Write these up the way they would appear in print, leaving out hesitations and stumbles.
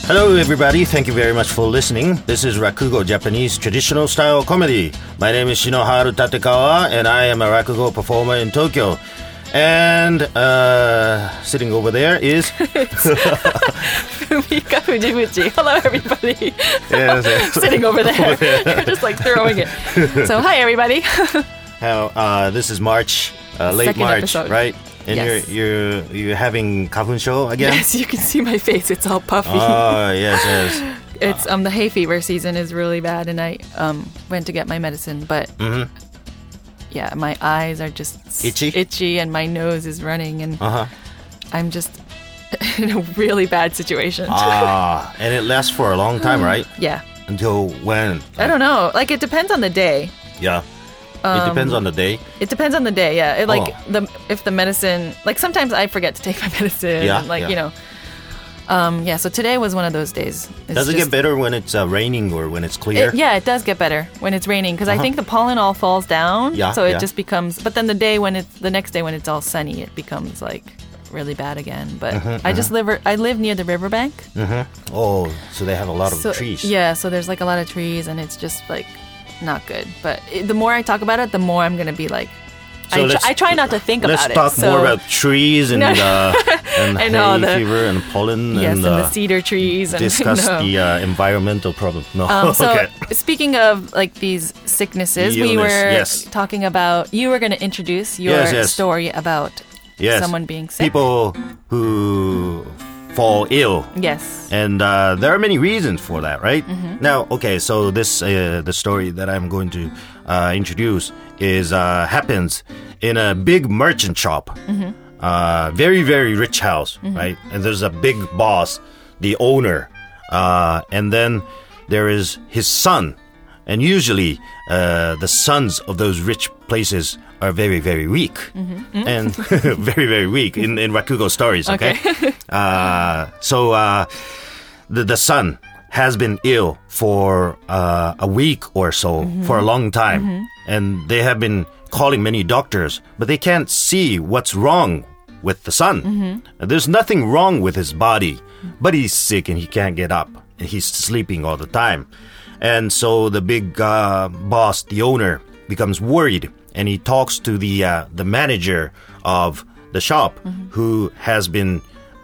Hello, everybody. Thank you very much for listening. This is Rakugo, Japanese traditional style comedy. My name is Shinoharu Tatekawa, and I am a Rakugo performer in Tokyo. And sitting over there is Fumika Fujibuchi. Hello, everybody. yes, Sitting over there. You're just like throwing it. So, hi, everybody. This is March, late Second March, episode. right? And Yes. you're having Kafun show again? Yes, you can see my face. It's all puffy. Oh, yes. It's the hay fever season is really bad, and I went to get my medicine, but yeah, my eyes are just Itchy? and my nose is running, and Uh-huh. I'm just in a really bad situation. And it lasts for a long time, right? Yeah, Until when? I don't know. Like it depends on the day. Yeah. It depends on the day. It depends on the day. Yeah, if the medicine, like sometimes I forget to take my medicine. Yeah, and like yeah. you know. Yeah, so today was one of those days. It's Does it just- get better when it's raining or when it's clear? It does get better when it's raining because I think the pollen all falls down. Yeah, So it yeah. just becomes. But then the next day when it's all sunny, it becomes like really bad again. But I live near the riverbank. Oh, so they have a lot of trees. Yeah, so there's like a lot of trees, and it's just like not good. But the more I talk about it, the more I'm gonna be like. So I try not to think about it. Let's talk more about trees and No. and I know, hay fever and pollen Yes, and and the cedar trees and discuss no. the environmental problem. No, So okay. speaking of like these sicknesses, The we illness, were yes. talking about. You were going to introduce your Yes. story about Yes. someone being sick. People who fall ill. Yes. And there are many reasons for that, right? Now, okay, so this the story that I'm going to introduce is happens in a big merchant shop, very very rich house, right? And there's a big boss, the owner, and then there is his son, and usually the sons of those rich places are very very weak and very very weak in Rakugo stories. Okay. So the son has been ill for a week or so, for a long time. And they have been calling many doctors, but they can't see what's wrong with the son. There's nothing wrong with his body, but he's sick and he can't get up. And he's sleeping all the time. And so the big boss, the owner, becomes worried. And he talks to the manager of the shop who has been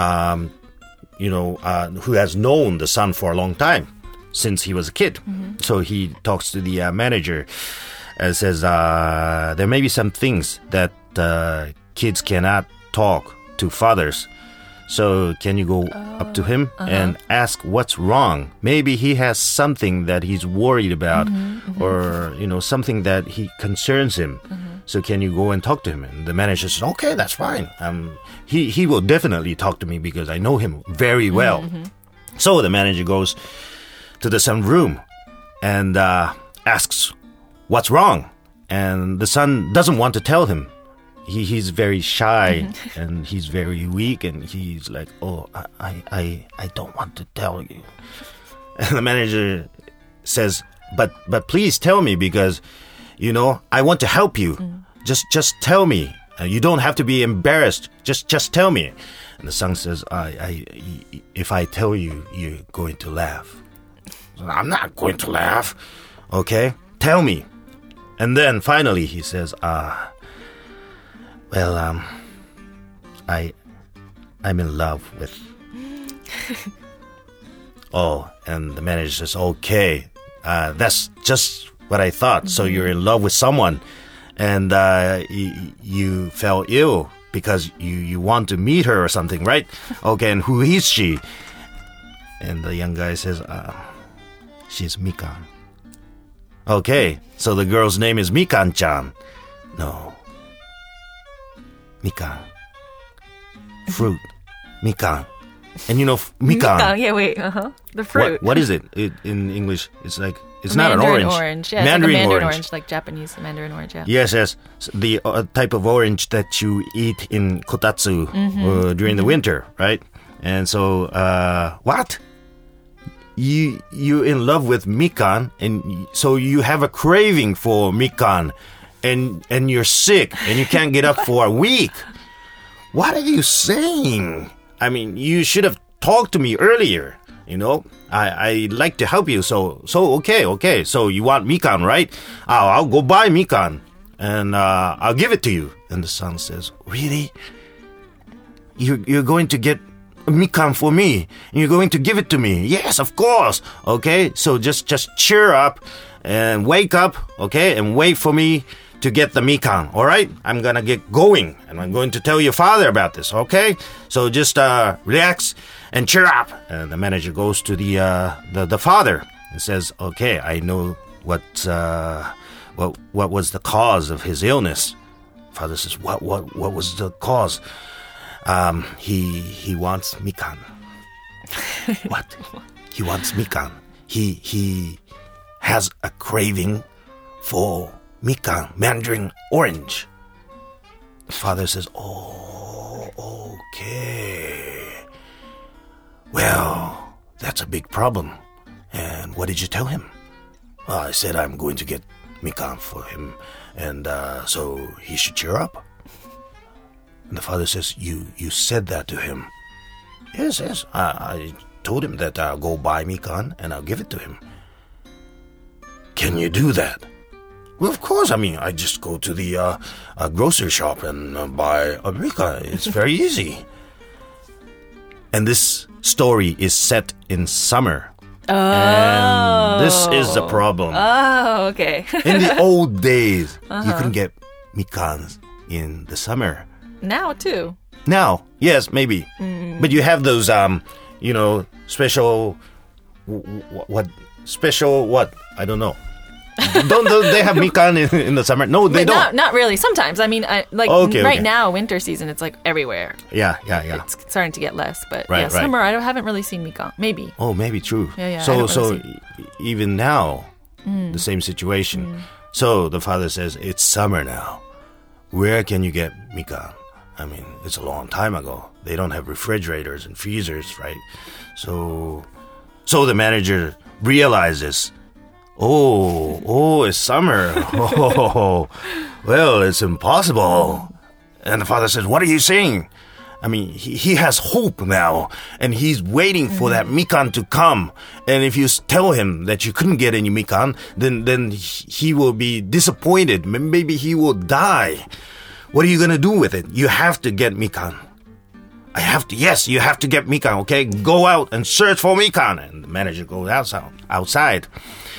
who has known the son for a long time, since he was a kid. So he talks to the manager and says, there may be some things that kids cannot talk to fathers. So can you go up to him and ask what's wrong? Maybe he has something that he's worried about or, something that he concerns him. So can you go and talk to him? And the manager says, okay, that's fine. He will definitely talk to me because I know him very well. So the manager goes to the son's room and asks, what's wrong? And the son doesn't want to tell him. He's very shy and he's very weak and he's like, oh, I don't want to tell you. And the manager says, but please tell me because, I want to help you. Just tell me. You don't have to be embarrassed. Just tell me. And the son says, if I tell you, you're going to laugh. I'm not going to laugh. Okay, tell me. And then finally he says, well, I'm in love with. Oh, and the manager says, okay, that's just what I thought. So you're in love with someone, and you fell ill because you want to meet her or something, right? Okay, and who is she? And the young guy says, she's Mikan. Okay, so the girl's name is Mikan-chan. No. Mikan. Fruit. Mikan. And Mikan. Yeah, wait. The fruit. What is it in English? It's like, it's not an Mandarin orange. orange. Yeah, Mandarin, it's like a Mandarin orange. like Japanese Mandarin orange, yeah. Yes. The type of orange that you eat in kotatsu during the winter, right? And so, what? You in love with Mikan, and so you have a craving for Mikan, and you're sick, and you can't get up for a week. What are you saying? I mean, you should have talked to me earlier. I like to help you. So okay. So you want mikan, right? I'll go buy mikan, and I'll give it to you. And the son says, really? You're going to get mikan for me? And you're going to give it to me? Yes, of course. Okay, so just cheer up and wake up, okay, and wait for me to get the mikan, all right? I'm gonna get going, and I'm going to tell your father about this, okay? So just relax and cheer up. And the manager goes to the father and says, okay, I know what was the cause of his illness. Father says, what was the cause? He wants mikan. What? He wants mikan. He has a craving for mikan, mandarin orange. Father says, oh, okay. Well, that's a big problem. And what did you tell him? Well, I said I'm going to get mikan for him, and so he should cheer up. And the father says, you said that to him? Yes. I told him that I'll go buy mikan and I'll give it to him. Can you do that? Well, of course. I mean, I just go to the grocery shop and buy a mikan. It's very easy. And this story is set in summer. Oh. And this is the problem. Oh, okay. In the old days, you couldn't get mikans in the summer. Now, too. Now, yes, maybe. But you have those, special... What? Special what? I don't know. Don't they have mikan in the summer? No, they don't. Not really. Sometimes. I mean, right now, winter season, it's like everywhere. Yeah. It's starting to get less, but Right. summer, I haven't really seen mikan. Maybe. Oh, maybe true. Yeah. So even now, the same situation. So the father says, it's summer now. Where can you get mikan? I mean, it's a long time ago. They don't have refrigerators and freezers, right? So the manager realizes, oh, it's summer. Oh, well, it's impossible. And the father says, what are you saying? I mean, he has hope now, and he's waiting for that mikan to come. And if you tell him that you couldn't get any mikan, then he will be disappointed. Maybe he will die. What are you going to do with it? You have to get mikan. Yes, you have to get mikan, okay? Go out and search for mikan. And the manager goes outside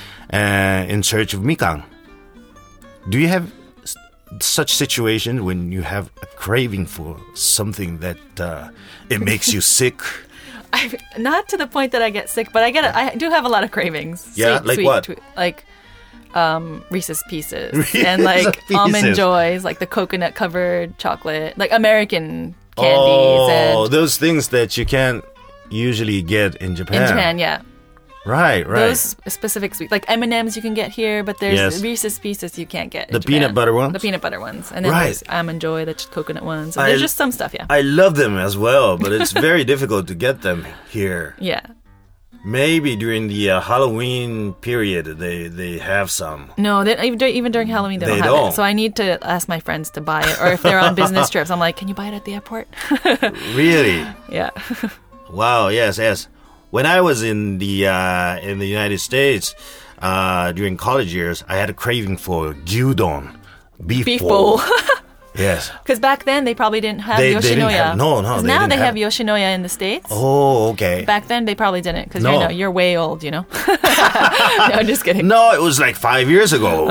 in search of mikan. Do you have such situation when you have a craving for something that it makes you sick? Not to the point that I get sick, but I do have a lot of cravings. Yeah, like what? Like Reese's Pieces and like Almond Joys, like the coconut covered chocolate, like American candies. Oh, those things that you can't usually get in Japan. In Japan, yeah. Right. Those specific sweets, like M&Ms you can get here, but there's Reese's Pieces you can't get in the Japan. peanut butter ones? The peanut butter ones. And then there's Almond Joy, the coconut ones. So there's just some stuff, yeah. I love them as well, but it's very difficult to get them here. Yeah. Maybe during the Halloween period, they have some. No, even during Halloween, they don't have it. So I need to ask my friends to buy it. Or if they're on business trips, I'm like, can you buy it at the airport? Really? Yeah. Wow, yes. When I was in the United States during college years, I had a craving for gyudon, beef bowl. Yes. Because back then they probably didn't have Yoshinoya. They didn't have, no. Now they have Yoshinoya in the States. Oh, okay. Back then they probably didn't because you're way old, No, I'm just kidding. No, it was like 5 years ago.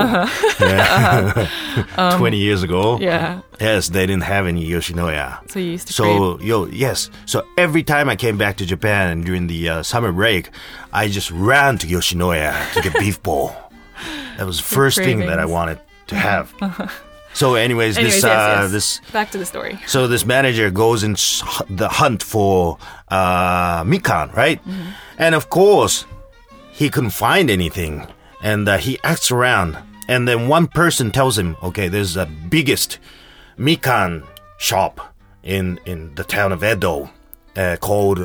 Yeah. 20 years ago. Yeah. Yes, they didn't have any Yoshinoya. So you used to crave. Yes. So every time I came back to Japan during the summer break, I just ran to Yoshinoya to get beef bowl. That was the first thing that I wanted to have. So anyways, this back to the story. So this manager goes in the hunt for mikan, right? Mm-hmm. And of course, he couldn't find anything. And he asks around. And then one person tells him, okay, there's the biggest mikan shop in the town of Edo called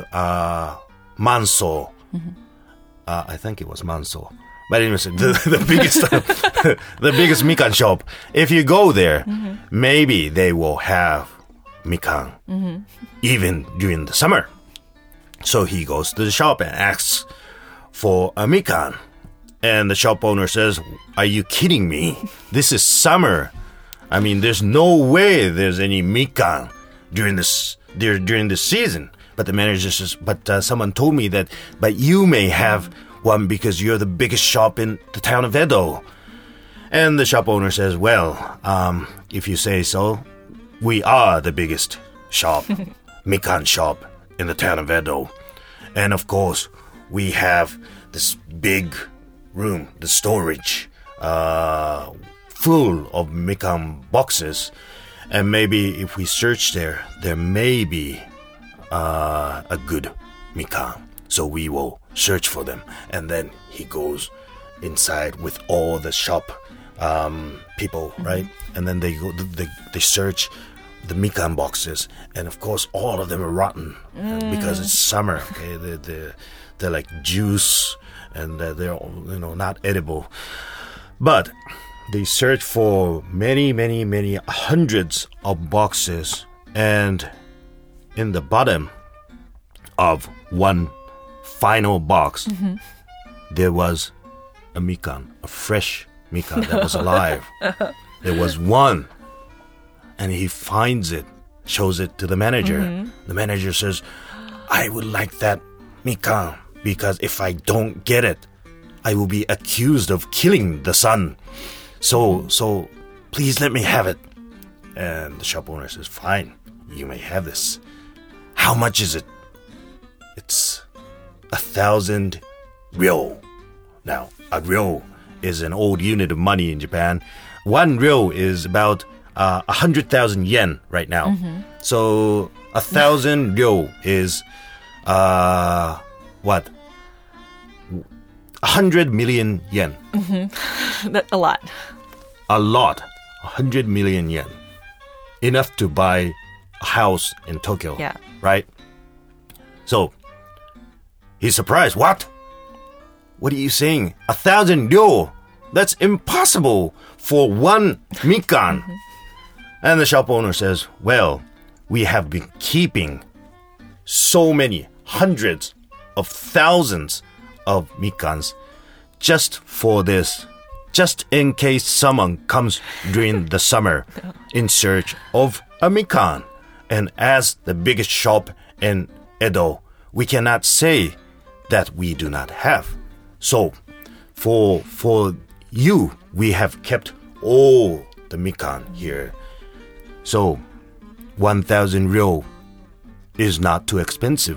Manso. Mm-hmm. I think it was Manso. But anyways, the biggest the biggest mikan shop. If you go there, maybe they will have mikan even during the summer. So he goes to the shop and asks for a mikan. And the shop owner says, "Are you kidding me? This is summer. I mean, there's no way there's any mikan during this season." But the manager says, "But someone told me that, but you may have one because you're the biggest shop in the town of Edo." And the shop owner says, "Well, if you say so, we are the biggest shop, mikan shop in the town of Edo. And of course, we have this big room, the storage, full of mikan boxes. And maybe if we search there may be a good mikan. So we will search for them." And then he goes inside with all the shop people, right? And then they search the mikan boxes, and of course all of them are rotten because it's summer. Okay, they're like juice, and they're not edible. But they search for many hundreds of boxes, and in the bottom of one final box, there was a mikan, a fresh mikan that was alive. There was one. And he finds it, shows it to the manager. The manager says, "I would like that mikan, because if I don't get it, I will be accused of killing the son. So please let me have it." And the shop owner says, "Fine, you may have this. How much is it?" "It's 1,000 ryo." Now, a ryo is an old unit of money in Japan. One ryo is about 100,000 yen right now. So 1,000 ryo is what? 100 million yen. That's a lot. A lot. 100 million yen. Enough to buy a house in Tokyo. Yeah. Right? So he's surprised. What? What are you saying? 1,000 ryo? That's impossible for one mikan. And the shop owner says, "Well, we have been keeping so many hundreds of thousands of mikans just for this, just in case someone comes during the summer in search of a mikan. And as the biggest shop in Edo, we cannot say that we do not have. So for you, we have kept all the mikan here. So 1,000 ryo is not too expensive."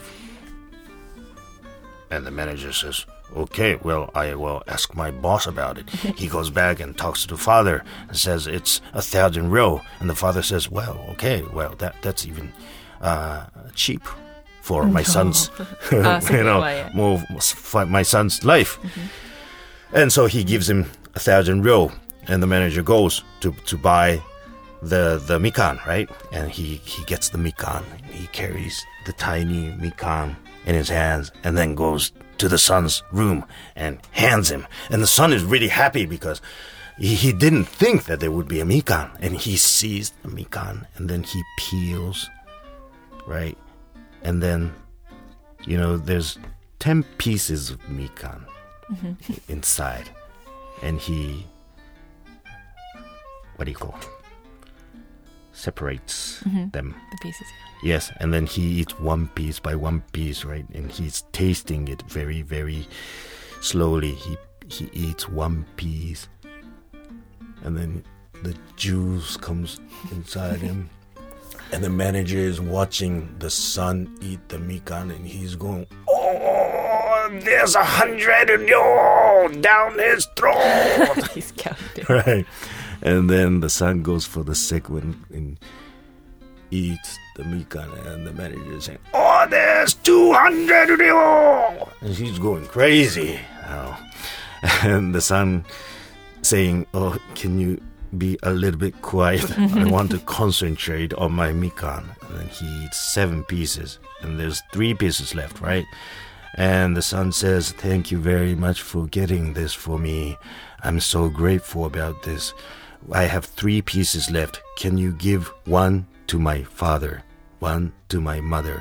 And the manager says, "Okay, well, I will ask my boss about it." He goes back and talks to the father and says, "It's 1,000 ryo." And the father says, "Well, okay, well, that's even cheap for my son's, more for my son's life." And so he gives him 1,000 ryo, and the manager goes to buy the mikan, right? And he gets the mikan. He carries the tiny mikan in his hands and then goes to the son's room and hands him. And the son is really happy because he didn't think that there would be a mikan. And he sees the mikan and then he peels, right? And then, there's 10 pieces of mikan inside. And he, what do you call it? Separates them. The pieces. Yes, and then he eats one piece by one piece, right? And he's tasting it very, very slowly. He eats one piece, and then the juice comes inside him. And the manager is watching the son eat the mikan, and he's going, "Oh, there's 100 ryo down his throat." He's counting. Right. And then the son goes for the second one and eats the mikan, and the manager is saying, "Oh, there's 200 ryo!" And he's going crazy. And the son saying, "Oh, can you be a little bit quiet? I want to concentrate on my mikan." And then he eats 7 pieces, and there's 3 pieces left, right? And the son says, "Thank you very much for getting this for me. I'm so grateful about this. I have 3 pieces left. Can you give one to my father, one to my mother,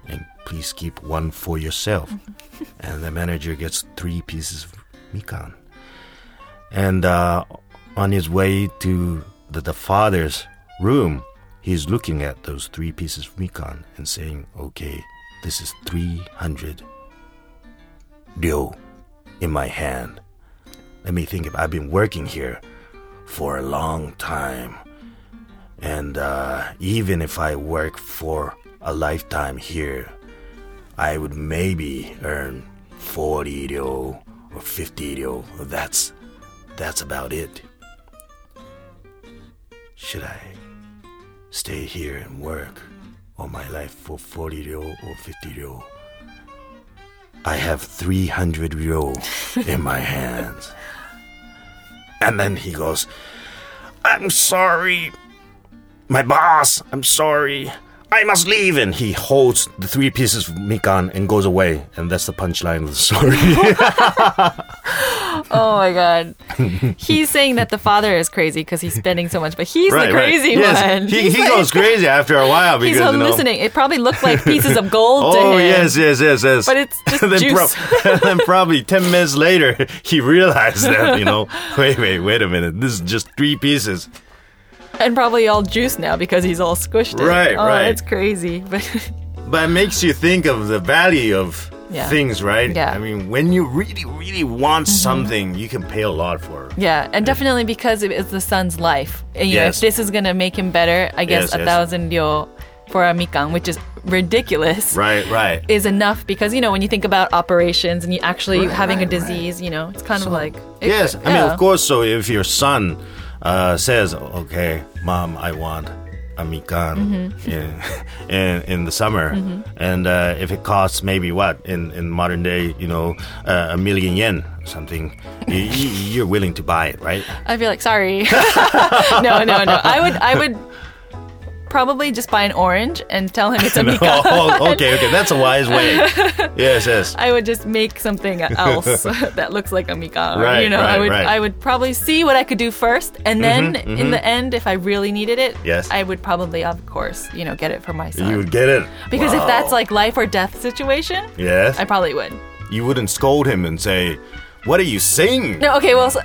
and please keep one for yourself. And the manager gets 3 pieces of mikan. And on his way to the father's room, he's looking at those 3 pieces of mikan and saying, okay, this is 300 ryo in my hand. Let me think. I've been working here for a long time. And even if I work for a lifetime here, I would maybe earn 40 ryo or 50 ryo. That's about it. Should I stay here and work all my life for 40 ryo or 50 ryo? I have 300 ryo in my hands. And then he goes, I'm sorry, my boss, I'm sorry, I must leave. And he holds the 3 pieces of mikan and goes away. And that's the punchline of the story. Oh my God. He's saying that the father is crazy because he's spending so much, but he's the crazy yes. one. He goes crazy after a while because he's hallucinating. It probably looked like pieces of gold to him. Oh, yes. But it's just juice. Then probably 10 minutes later, he realized that, wait a minute. This is just 3 pieces. And probably all juice now because he's all squished. Right. It's crazy. But it makes you think of the value of things, right? Yeah. I mean, when you really, really want something, you can pay a lot for it. Yeah, and definitely because it's the son's life. And, if this is going to make him better, I guess 1,000 ryo for a mikan, which is ridiculous. Right. Is enough because, when you think about operations and you actually having a disease, it's kind of like... Yes, I mean, of course, so if your son says, okay, Mom, I want a mikan in the summer, and if it costs maybe in modern day, a million yen or something, you're willing to buy it, right? I'd be like, sorry. No. I would probably just buy an orange and tell him it's a mikan. Oh, okay, that's a wise way. Yes. I would just make something else that looks like a mikan. Right, I would probably see what I could do first, and then in the end, if I really needed it, I would probably, of course, get it for my son. You would get it because if that's like life or death situation, I probably would. You wouldn't scold him and say, "What are you saying?" No, so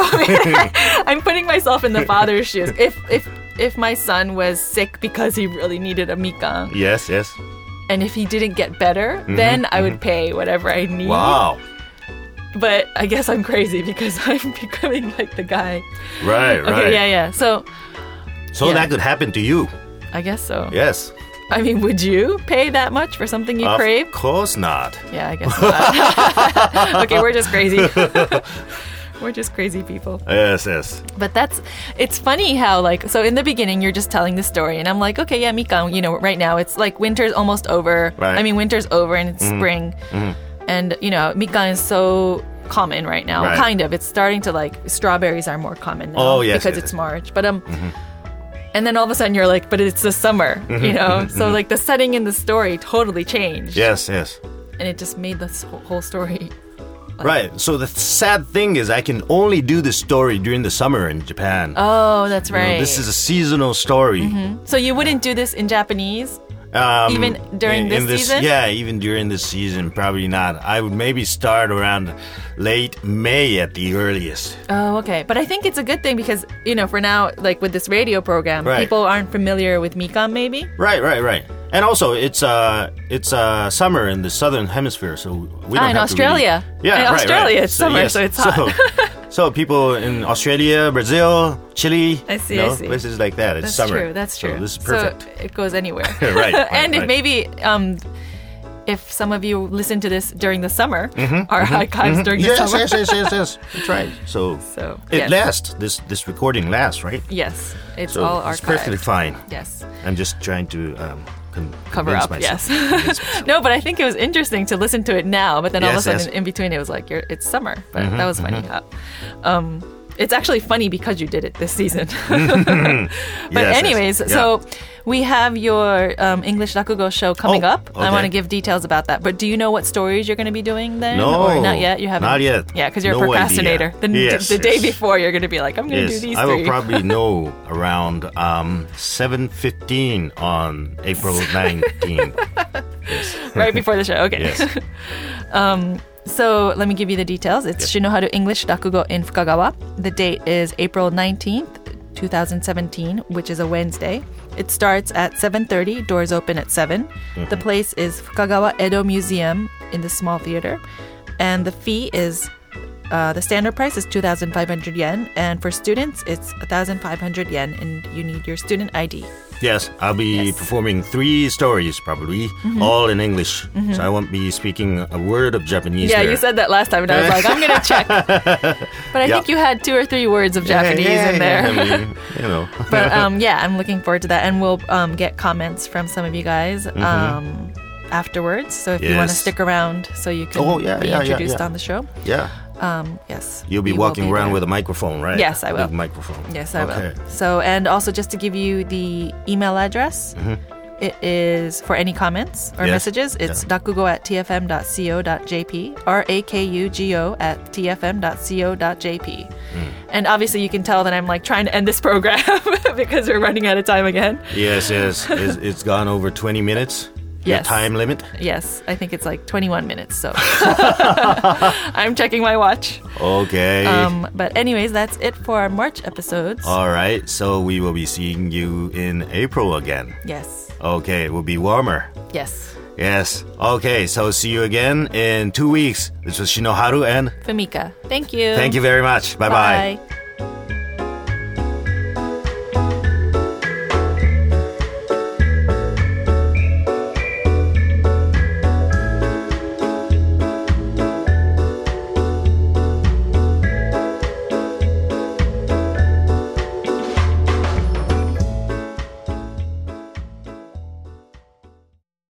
I'm putting myself in the father's shoes. If my son was sick because he really needed a mikan. Yes. And if he didn't get better, then I would pay whatever I need. Wow. But I guess I'm crazy because I'm becoming like the guy. Right. Okay, yeah. So that could happen to you. I guess so. Yes. I mean, would you pay that much for something you crave? Of course not. Yeah, I guess not. Okay, we're just crazy. We're just crazy people. Yes. But it's funny how, so in the beginning, you're just telling the story, and I'm like, okay, yeah, mikan, right now, it's like winter's almost over. Right. I mean, winter's over and it's spring. And, mikan is so common right now. Right. Kind of. It's starting to, strawberries are more common now. Oh, yes. Because it's March. But, and then all of a sudden you're like, but it's the summer, So, the setting in the story totally changed. Yes. And it just made this whole story... Right. So the sad thing is I can only do this story during the summer in Japan. Oh, that's right. This is a seasonal story. So you wouldn't do this in Japanese? Even during this season? Yeah, even during this season, probably not. I would maybe start around late May at the earliest. Oh, okay. But I think it's a good thing because, for now, with this radio program, people aren't familiar with mikan maybe? Right. And also, it's summer in the southern hemisphere, so we don't in have Australia. To really... in Australia, it's summer, so it's hot. So people in Australia, Brazil, Chile, I see. places like that, it's summer. That's true. So this is perfect. So it goes anywhere. Right. And if maybe... if some of you listen to this during the summer, our archives during the summer. Yes. That's right. So it lasts. This recording lasts, right? Yes. It's all archived. It's perfectly fine. Yes. I'm just trying to cover up myself. Yes. No, but I think it was interesting to listen to it now, but then all of a sudden in between it was like it's summer. But that was funny how it's actually funny because you did it this season. But anyways, so we have your English Rakugo show coming up. Okay. I want to give details about that. But do you know what stories you're going to be doing then? No. Or not yet? You haven't? Not yet. Yeah, because you're a procrastinator. The day before, you're going to be like, I'm going to do these 3. I will probably know around 7:15 on April 19th. Right before the show. Okay. Yes. So let me give you the details. It's Shinoharu English Rakugo in Fukagawa. The date is April 19th, 2017, which is a Wednesday. It starts at 7:30. Doors open at 7. The place is Fukagawa Edo Museum in the small theater. And the fee is, the standard price is 2,500 yen. And for students, it's 1,500 yen. And you need your student ID. Yes, I'll be performing 3 stories probably, all in English. So I won't be speaking a word of Japanese. Yeah, there. you said that last time, and I was like, I'm going to check. But I think you had 2 or 3 words of Japanese in there. I mean, you know. But yeah, I'm looking forward to that. And we'll get comments from some of you guys afterwards. So if you want to stick around so you can be introduced on the show. Yeah. Yes. You'll be walking around with a microphone, right? Yes, I will. Big microphone. Yes, I will. So, and also just to give you the email address, it is for any comments or messages. It's rakugo@tfm.co.jp, rakugo@tfm.co.jp. And obviously you can tell that I'm like trying to end this program because we're running out of time again. Yes. It's gone over 20 minutes. Your time limit? Yes, I think it's like 21 minutes, so I'm checking my watch. Okay. But anyways, that's it for our March episodes. All right, so we will be seeing you in April again. Yes. Okay, it will be warmer. Yes. Yes. Okay, so see you again in 2 weeks. This was Shinoharu and Fumika. Thank you. Thank you very much. Bye-bye. Bye.